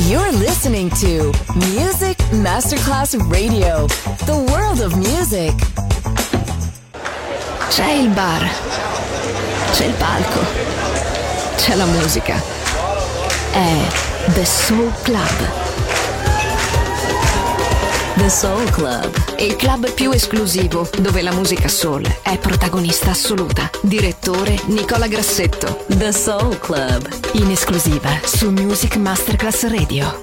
You're listening to Music Masterclass Radio, the world of music. C'è il bar, c'è il palco, c'è la musica. È The Soul Club. The Soul Club, Il club più esclusivo dove la musica soul è protagonista assoluta. Direttore Nicola Grassetto. The Soul Club, In esclusiva su Music Masterclass Radio.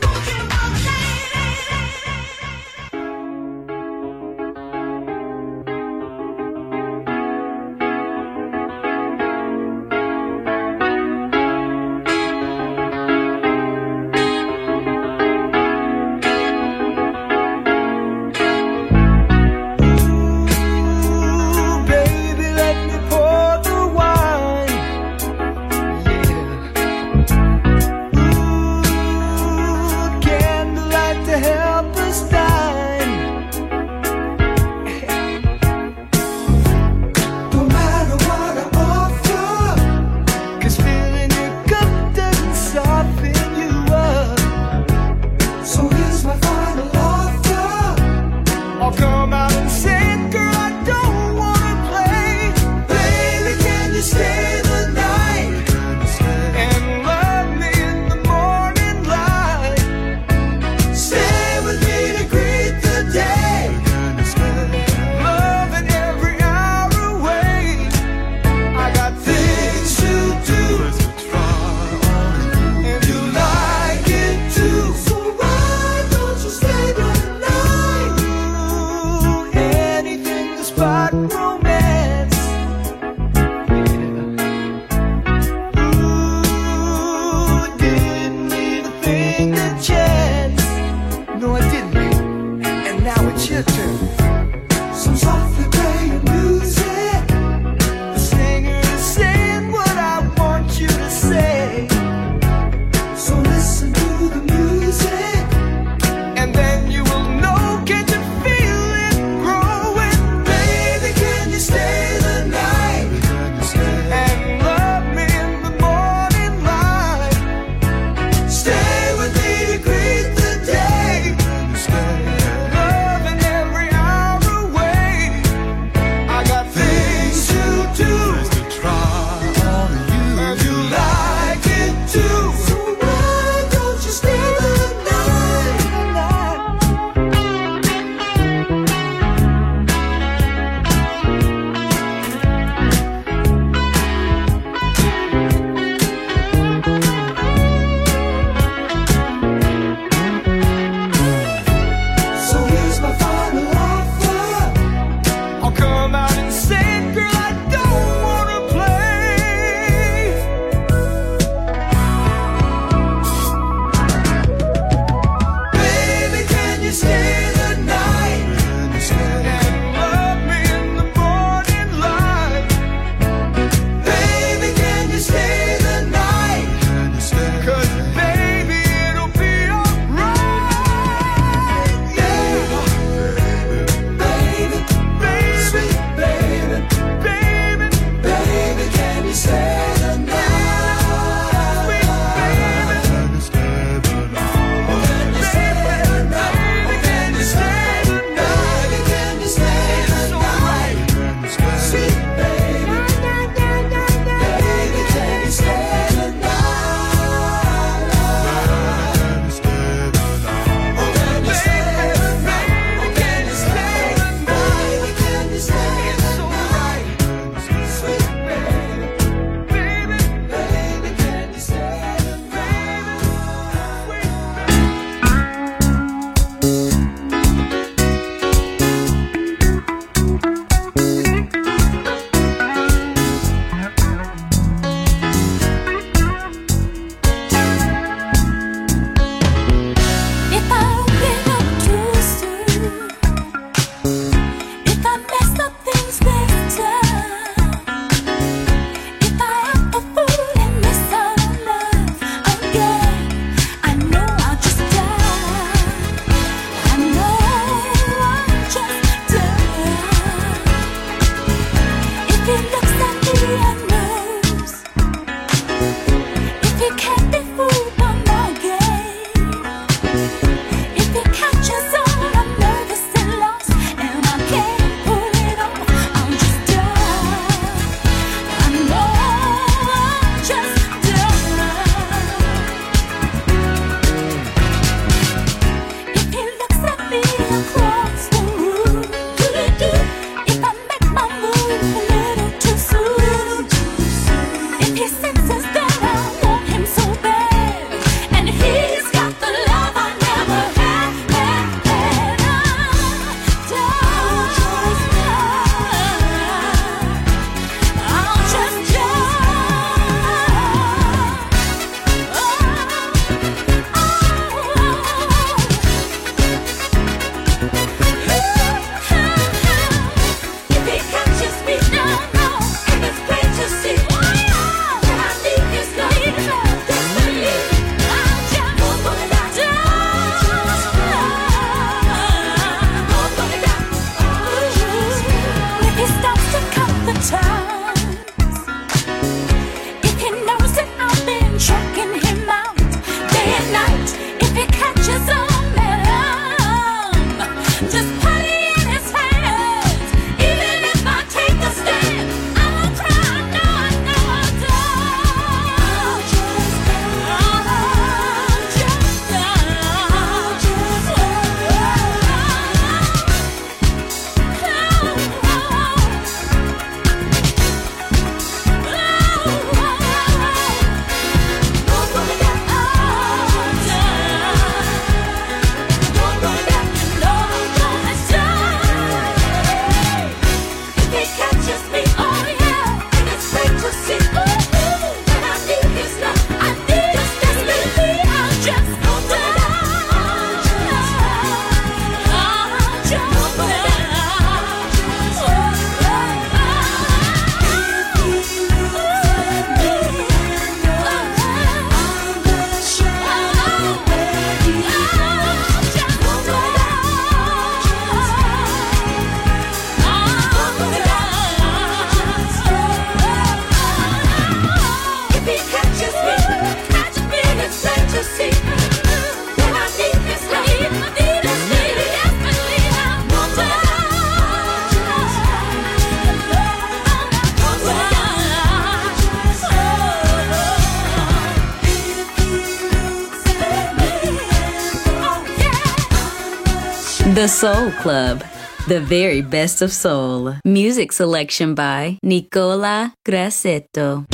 The Soul Club, the very best of soul. Music selection by Nicola Grassetto.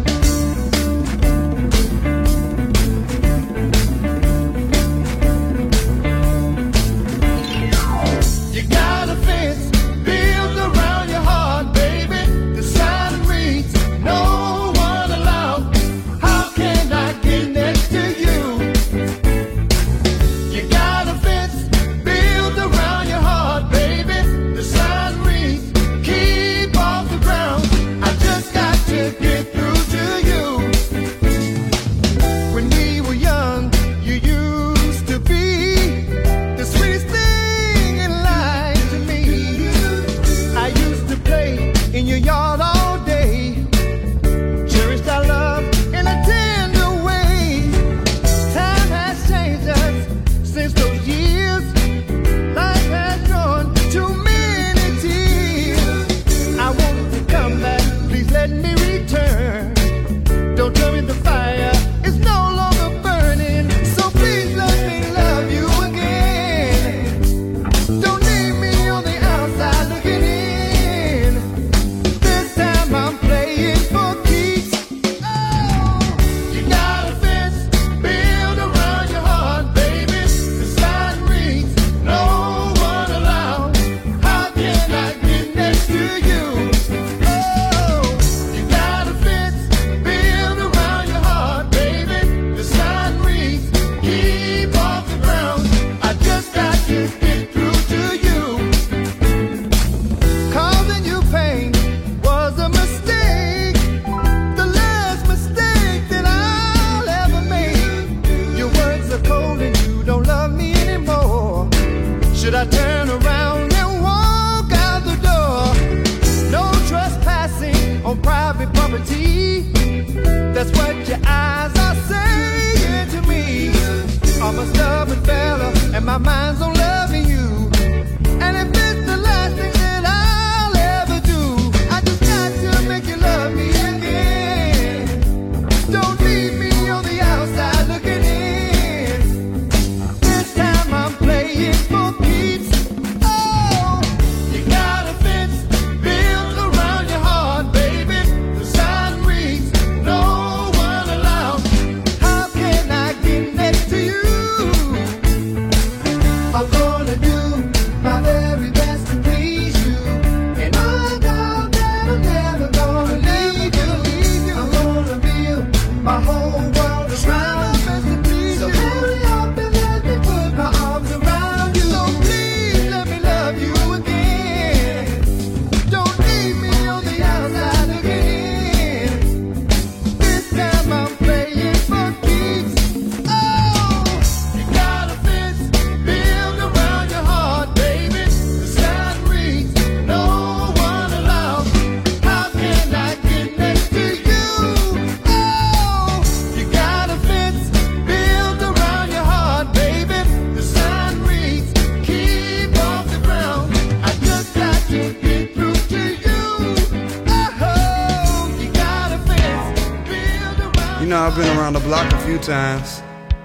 I've been around the block a few times.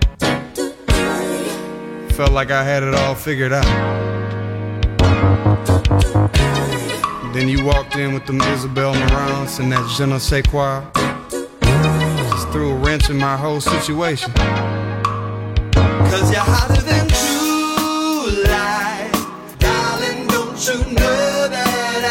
Felt like I had it all figured out. Then you walked in with them Isabel Marants and that je ne sais quoi. Just threw a wrench in my whole situation. Cause you're hotter than true lies, darling, don't you know that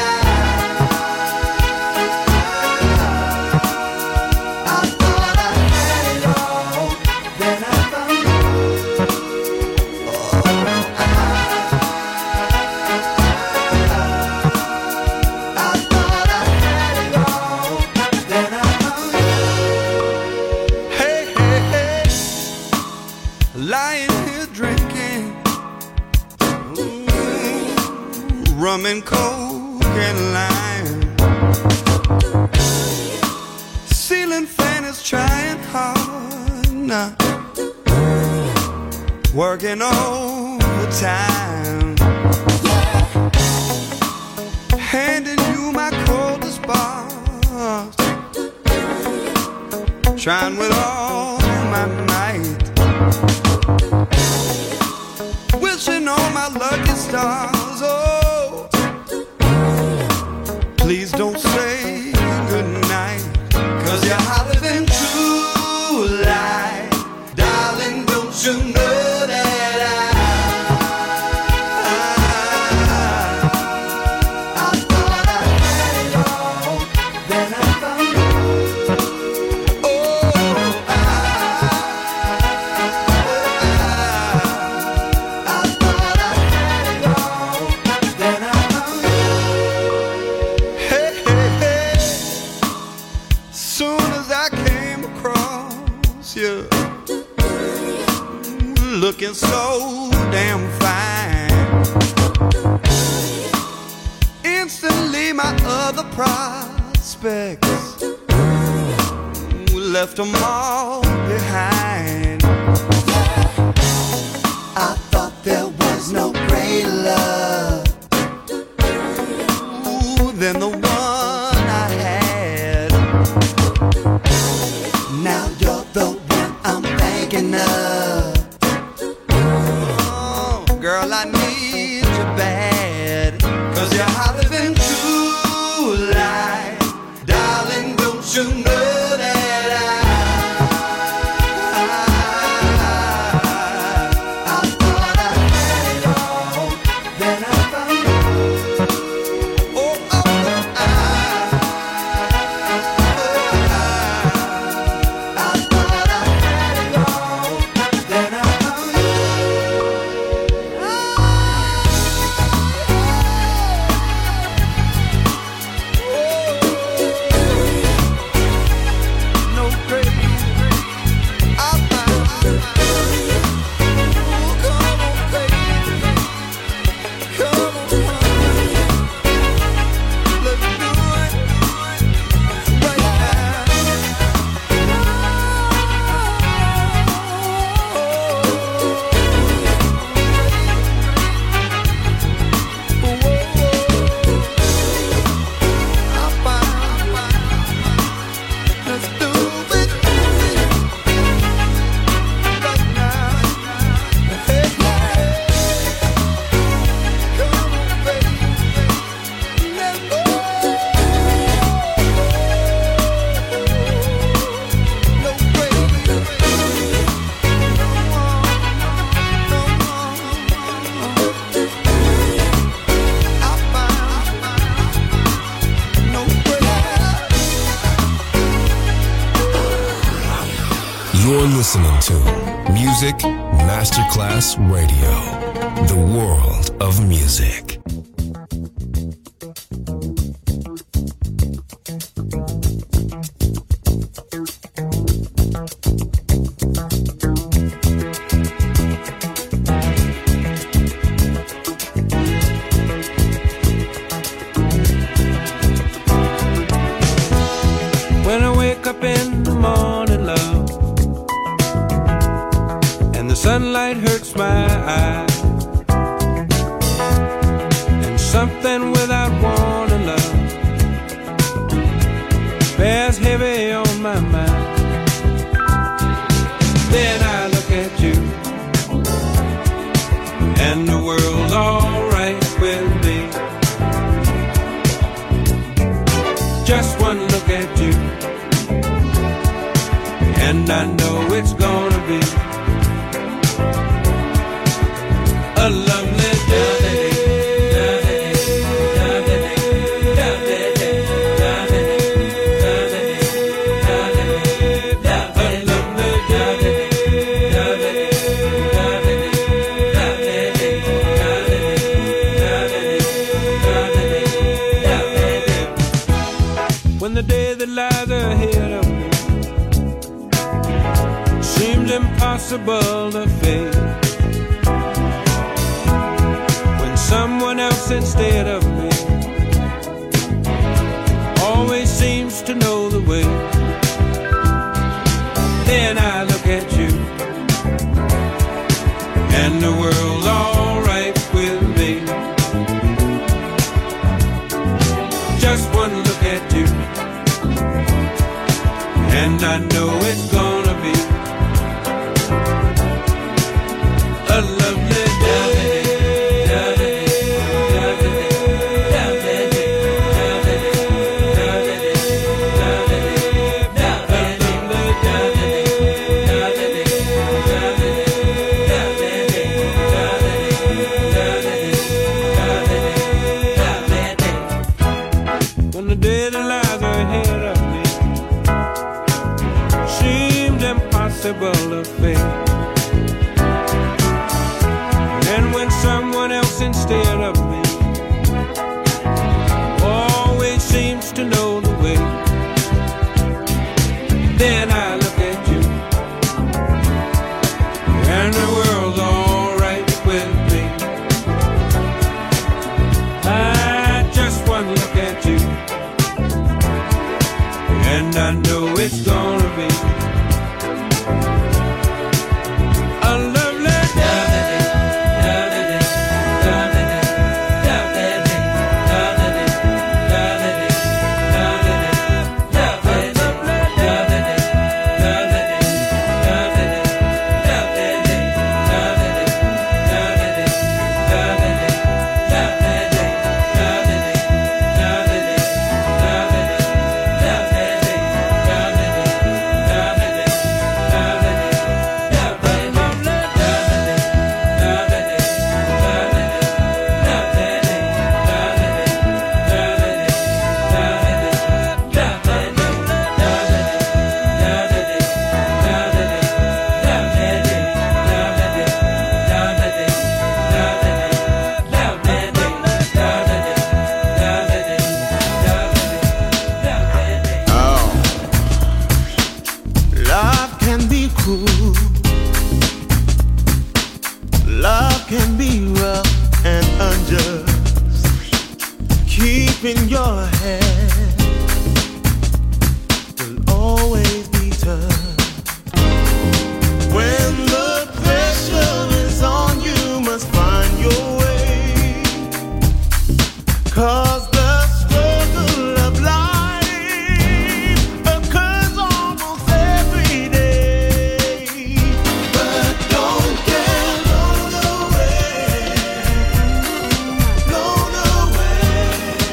rum and coke and lime. Ceiling fan is trying hard now, working overtime, handing you my coldest bars, trying with all my might, wishing all my luck is stars. Oh, please don't say goodnight, 'cause you're hotter than true light. Darling, don't you know that I thought I had it all, then I found you. Looking so damn fine, instantly my other prospects left them all behind. I thought there was no greater love than the one I had. Now you're the one I'm thinking of. Girl, I need you bad, 'cause you're hotter than true light. Darling, don't you know that I thought I had it all, then I found you. Oh, oh, oh, I thought I had it all, then I found you. You're listening to Music Masterclass Radio, the world of music. When I wake up in the morning, love, and the sunlight hurts my eyes, and something without warning, love, bears heavy on my mind. Then I look at you, and the world's alright with me. Just one look at you, and I know it's gonna be a lovely day. When the day that lies ahead of me seems impossible to face, when someone else instead of me always seems to know the way, then I look at you, and the world's alright with me. Just one look at you, and I know it's gonna be a lovely day. And when someone else instead of me always seems to know the way, then I look at you and the world's alright with me. I just one look at you and I know it's gonna be a lovely day. In your head will always be tough. When the pressure is on, you must find your way. 'Cause the struggle of life occurs almost every day. But don't get blown away, blown away.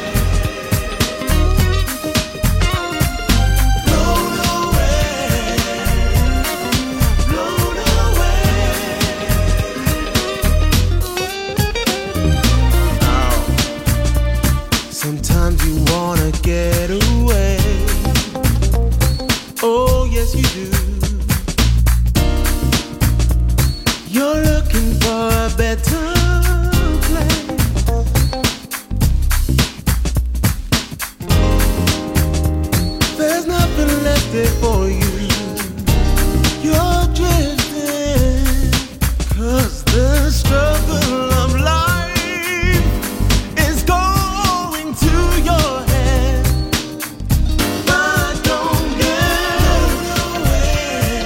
Sometimes you wanna get away. Oh, yes, you do. You're looking for a better place. There's nothing left there for you. You're drifting, 'cause the struggle of life is going to your head. But don't get away,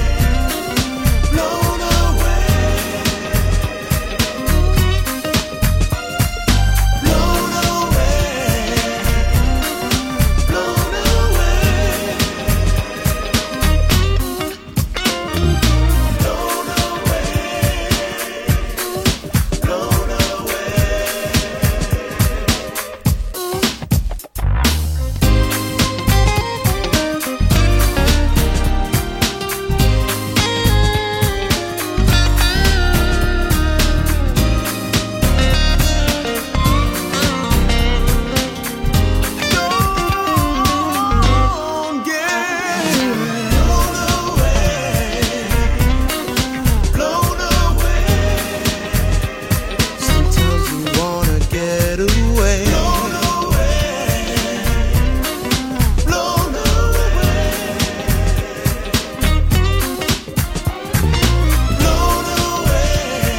blown away, blown away, blown away, blown away, don't get blown away, blown away. Sometimes you wanna get away, blown away, blown away, blown away,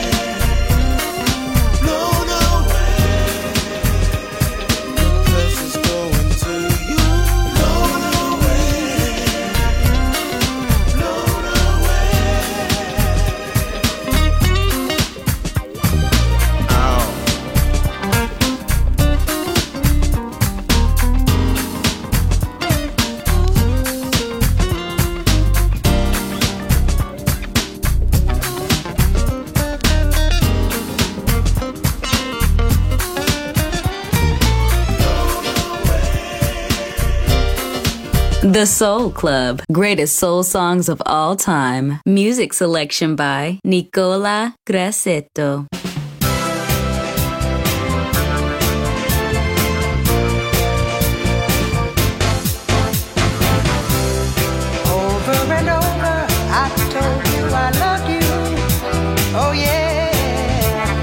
blown away. Pressure's going to you, blown away, blown away. Ow. The Soul Club, greatest soul songs of all time. Music selection by Nicola Grassetto. Over and over, I told you I loved you. Oh yeah.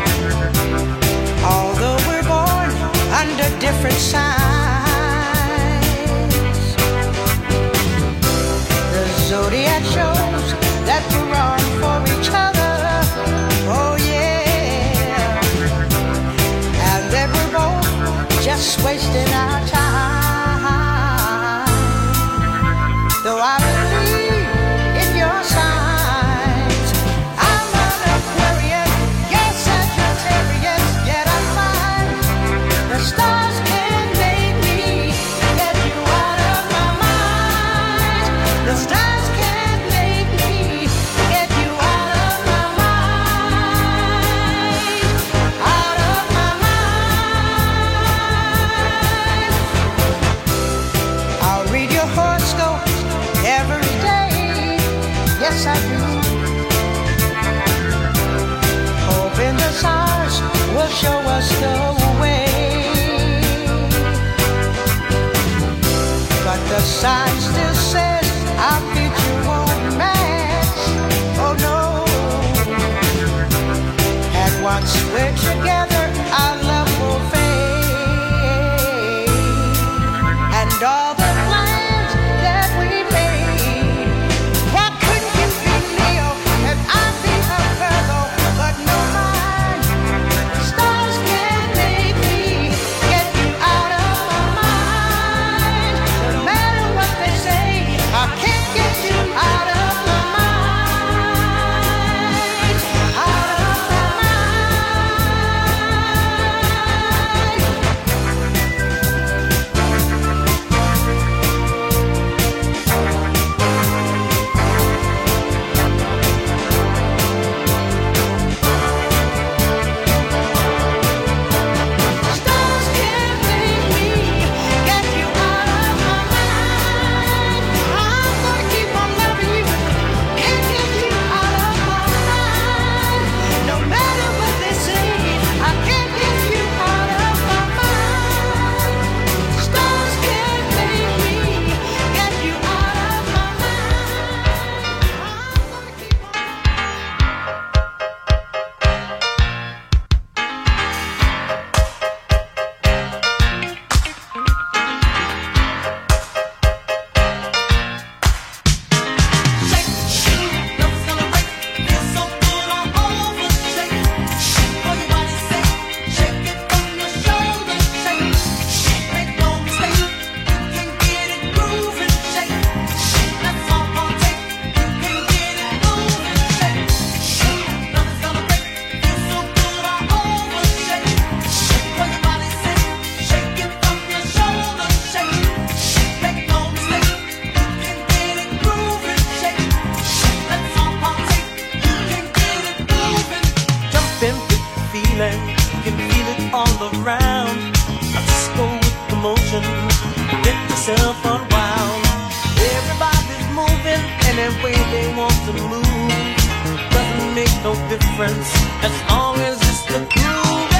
around. I just go with the motion, get yourself unwound. Everybody's moving any way they want to move. Doesn't make no difference as long as it's the groove.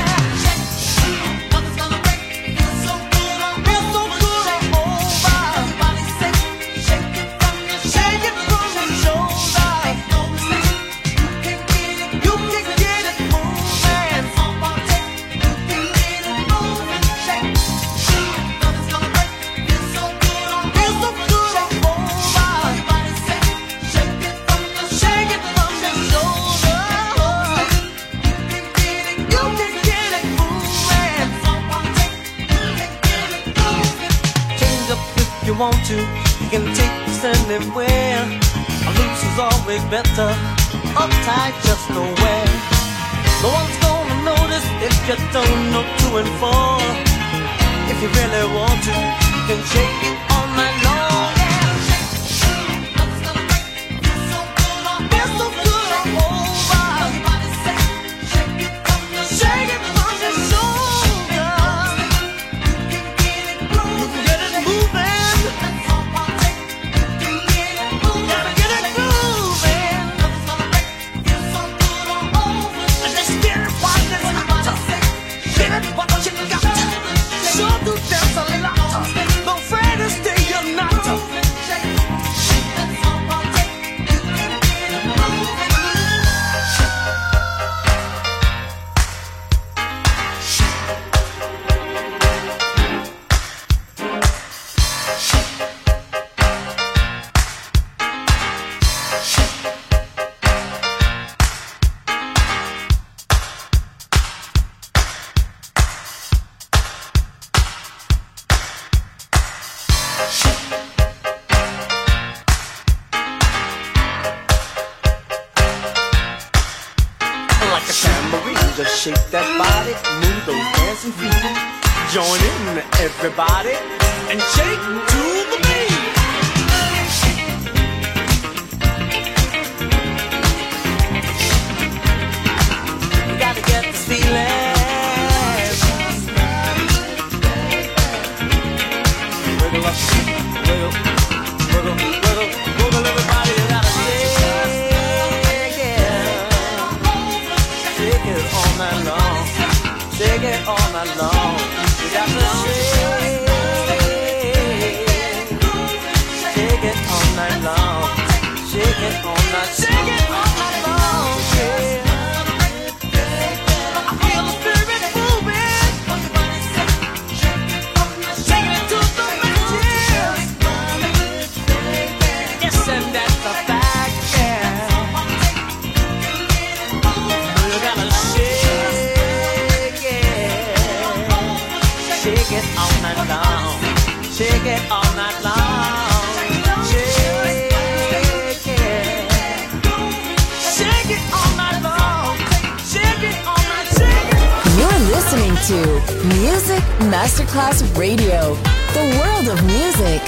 Want to, you can take this anywhere. Loose is always better, uptight just nowhere. No one's gonna notice if you don't know 2 and 4. If you really want to, you can shake it all night long. Shake that body, move those dancing feet. Join in, everybody, and shake to the beat. You gotta get the feeling. Wiggle up, wiggle, wiggle, wiggle, wiggle, everybody. You gotta shake it all night long. Shake it all night long. You got to shake it all night long. Shake it all night, shake it all night long. Yeah. I feel the spirit moving. Shake it to the matches. Yes, and that's a fact, yeah. You gotta shake it all night long. Shake it all night long. Shake it all night long. Shake it all night, shake it. You're listening to Music Masterclass Radio, the world of music.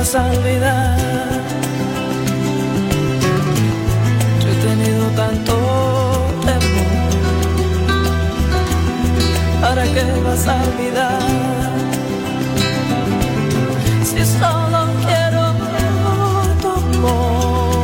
vas a olvidar. Yo he tenido tanto temor. ¿Para qué vas a olvidar? Si solo quiero tu amor.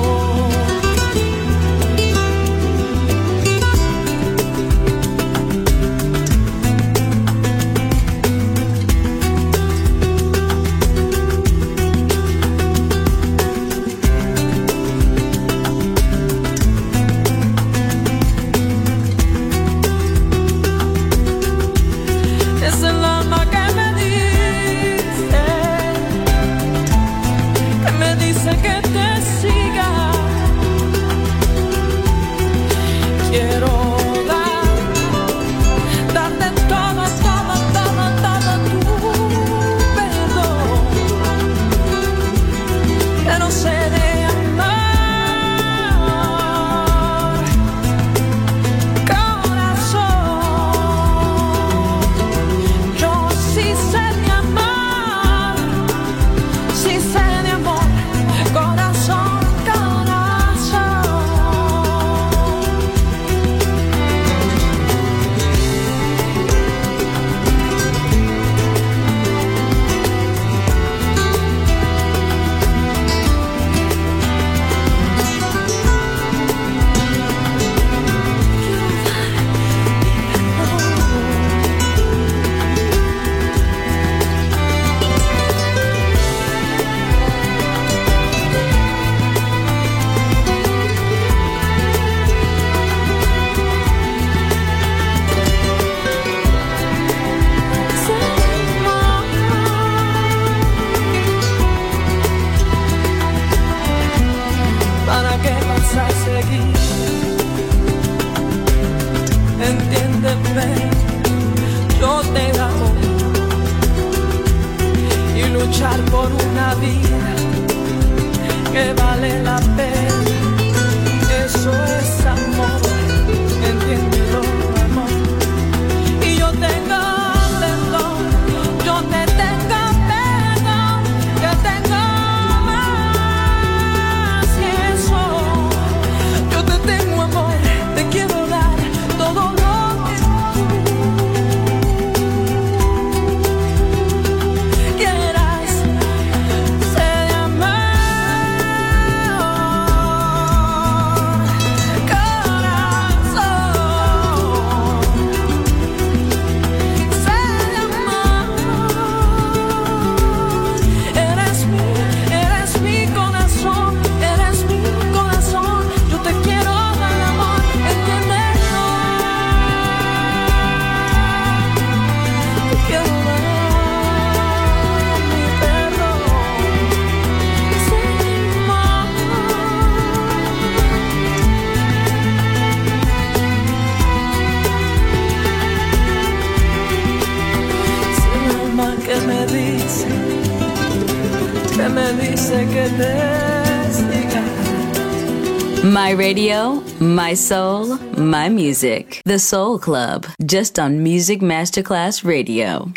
Que te siga, quiero darte todo tu perdón, pero sé de amar, corazón, yo sí sé de amar, sí sé de amor. Corazón, corazón. Entiéndeme, yo te amo y luchar por una vida que vale la pena, eso es amor, entiéndelo, amor. Y yo tengo perdón, yo te tengo perdón, yo tengo más que eso, yo te tengo amor, te quiero dar todo lo que tú quieras, sé de amar, corazón, sé de amar, eres mi corazón, yo te quiero dar amor, entiéndelo. Quiero dar mi perdón, sé de amar, sé el alma que me dice que te siga. My radio, my soul, my music. The Soul Club, just on Music Masterclass Radio.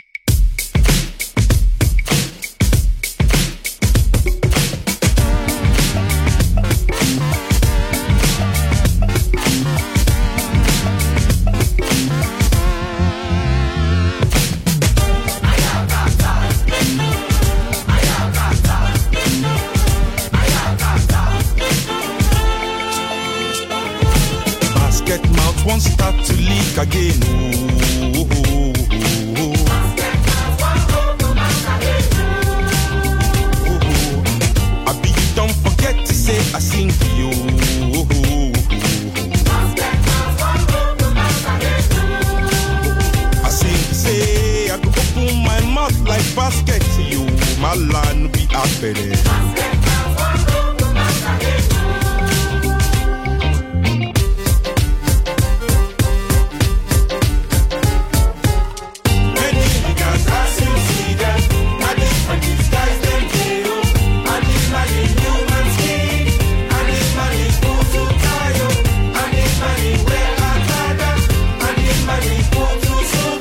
Basket mouth won't start to leak again. Ooh, ooh, ooh, ooh. I be you don't forget to say I sing to you. I sing to say I go open my mouth like basket to you. My line be out there.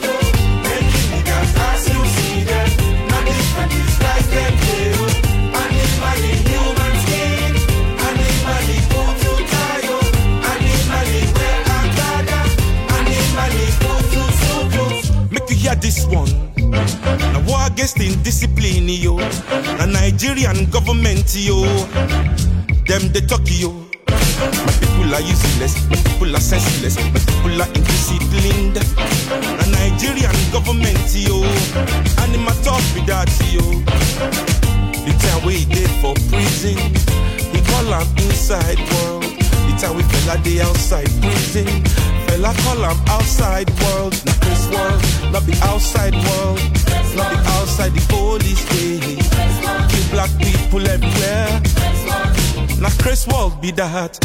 I this one. Now war against indiscipline, yo. The Nigerian government, yo. Them they talk, yo. My people are useless, my people are senseless, my people are indisciplined. The Nigerian government, yo. And in my talk with that, yo. The time we did for prison, he call am inside world. The time we fella day outside prison, fella call am outside world. Not this world, not the outside world, not the outside the police way. Kill black people everywhere. Not Chris world be that.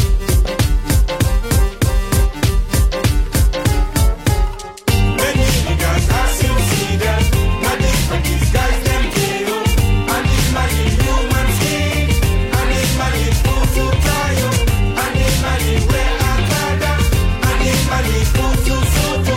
Many niggas as you see them, not different these guys them kill. And it's my human skin, and it's my food to try, and it's my where I gather, and it's my food to soto.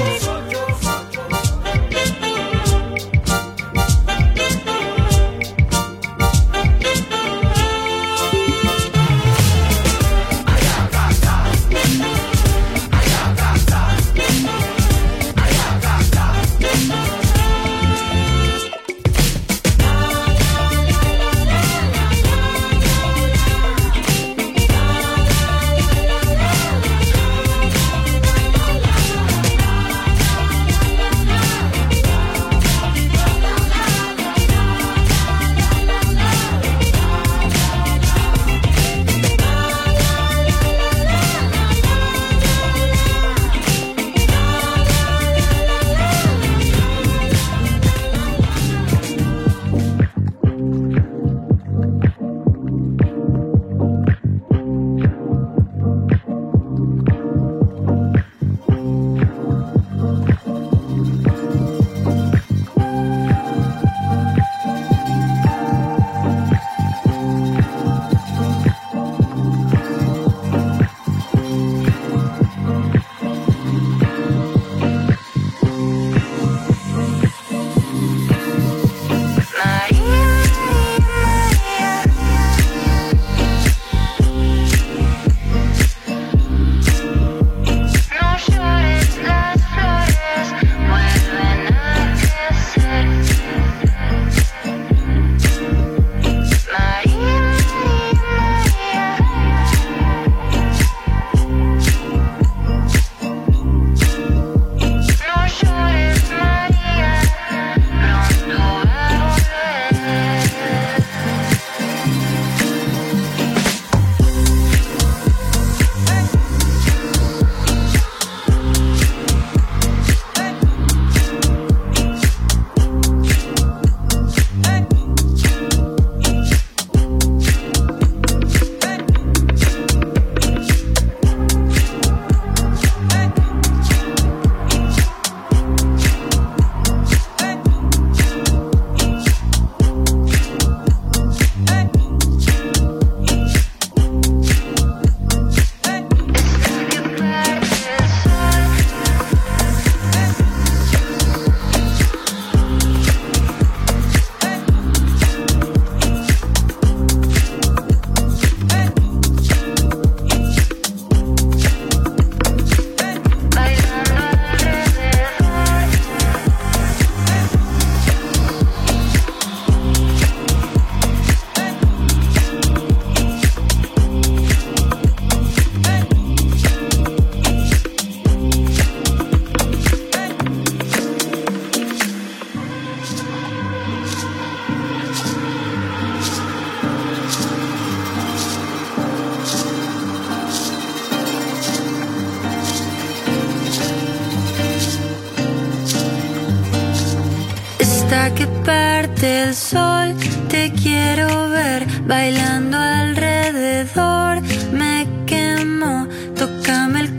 hasta que parte el sol. Te quiero ver bailando alrededor. Me quemo, tócame el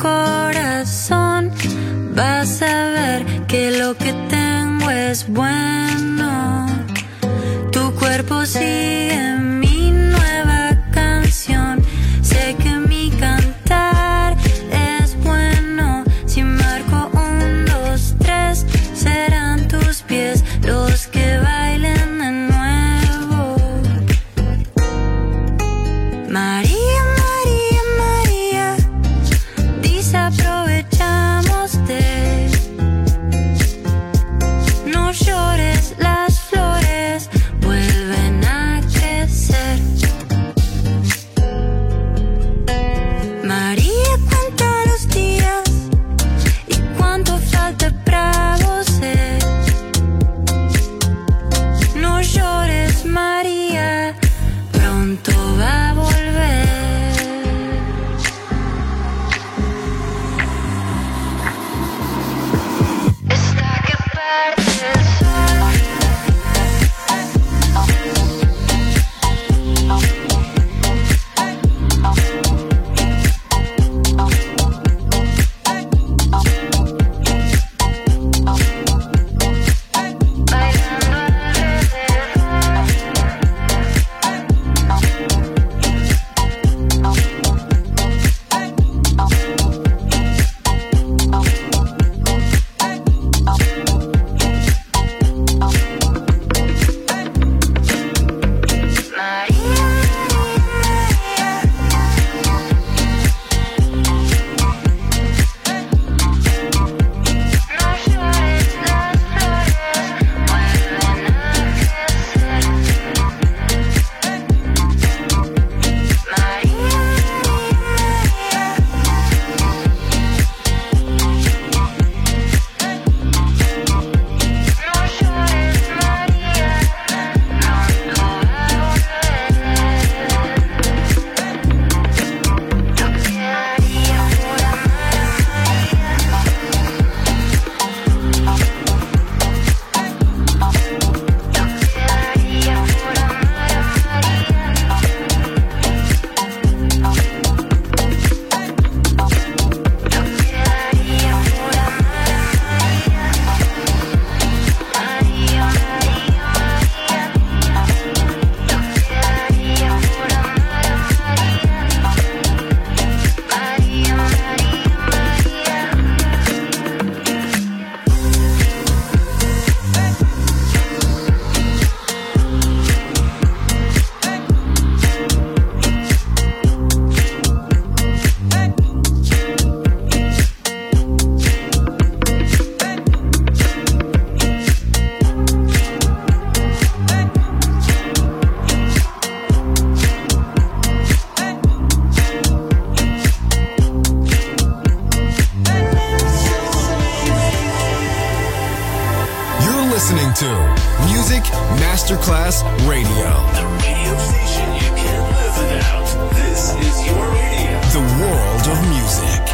corazón. Vas a ver que lo que tengo es bueno. Tu cuerpo sigue mi nueva canción. Sé que mi cantar es bueno. Si marco 1, 2, 3, serán tus pies los que bailen de nuevo. María, María, María, desaprovechamos de. listening to Music Masterclass Radio. The radio station you can't live without. This is your radio. The world of music.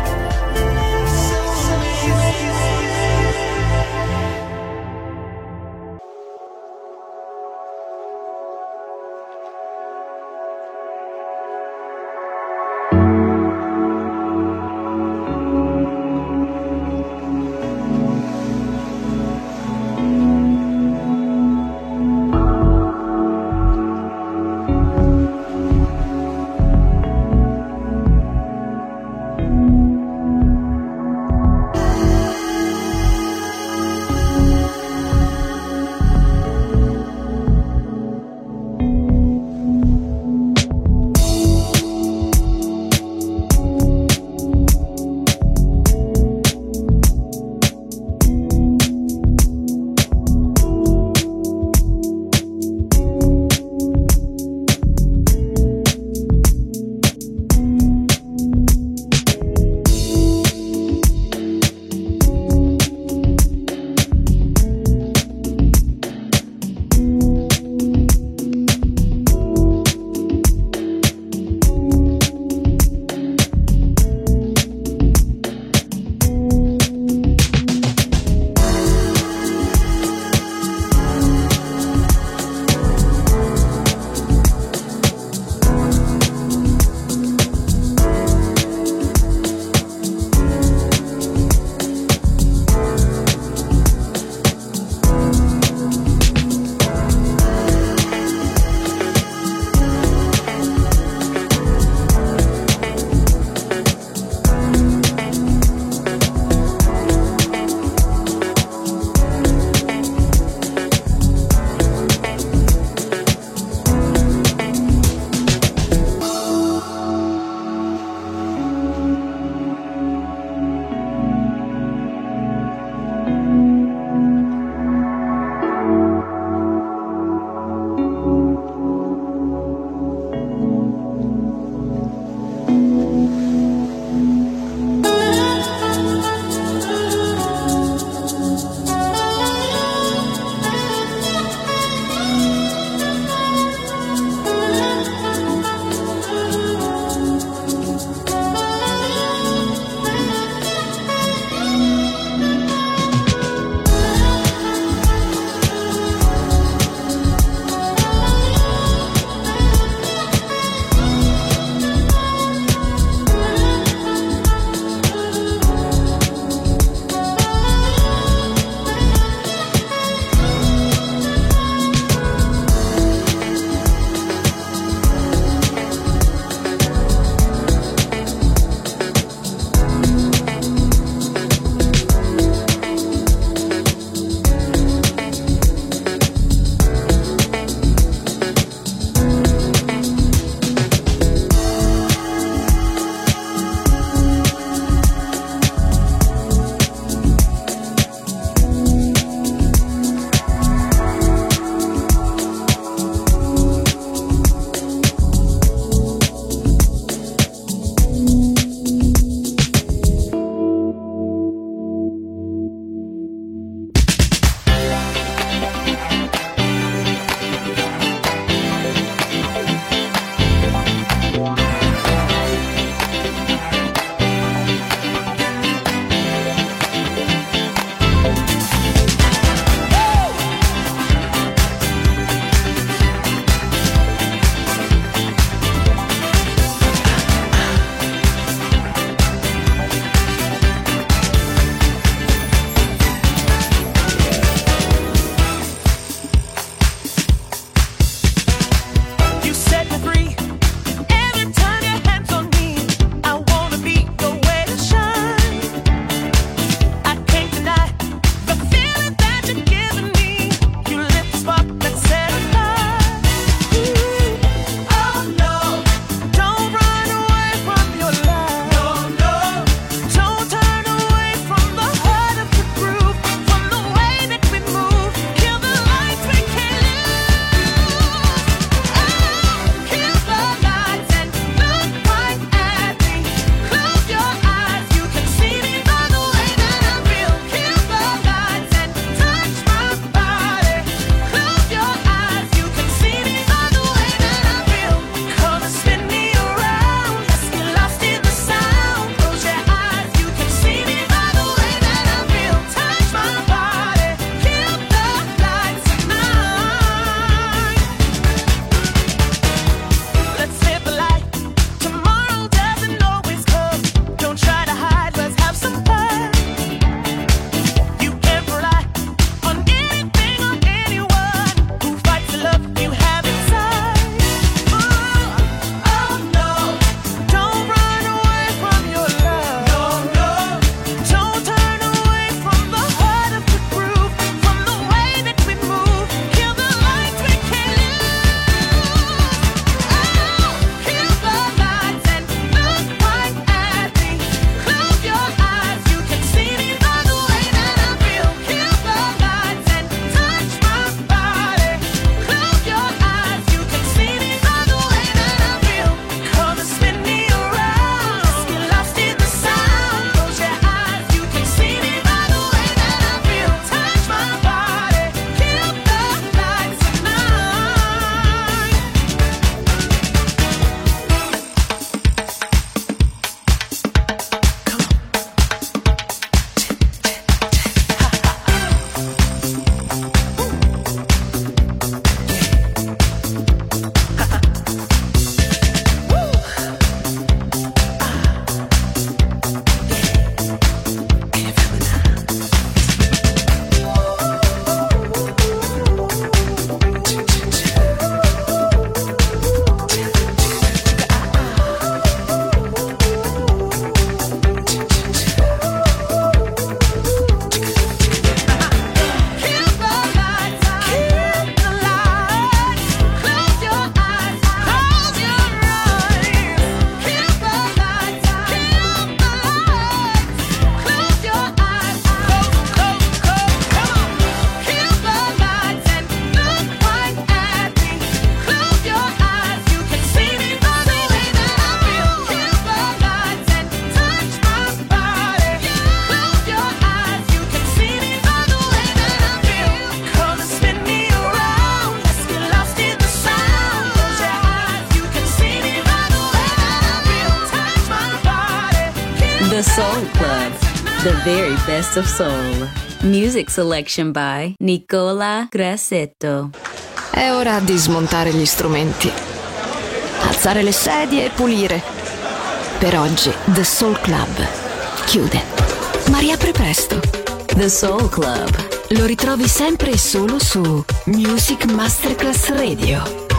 The very best of soul. Music selection by Nicola Grassetto. È ora di smontare gli strumenti, alzare le sedie e pulire. Per oggi The Soul Club chiude, ma riapre presto. The Soul Club lo ritrovi sempre e solo su Music Masterclass Radio.